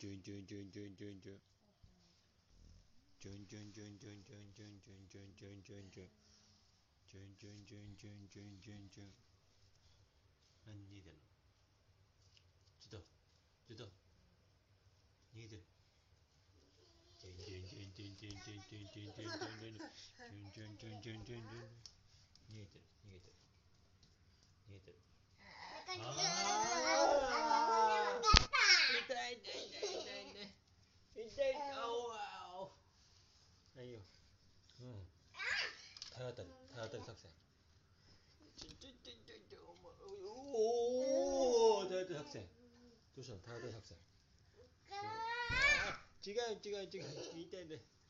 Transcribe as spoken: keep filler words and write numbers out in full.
逃げてるの？ちょっとちょっと逃げてる。逃げてる逃げてる逃げてる逃げてる。ああ痛い痛い痛い痛い痛い痛い。あおあお。いいよ。うん。体当たり体当たり作戦。ちょちょちょちょちょおおお体当たり作戦。どうしたの？体当たり作戦。違う違う違う痛いね。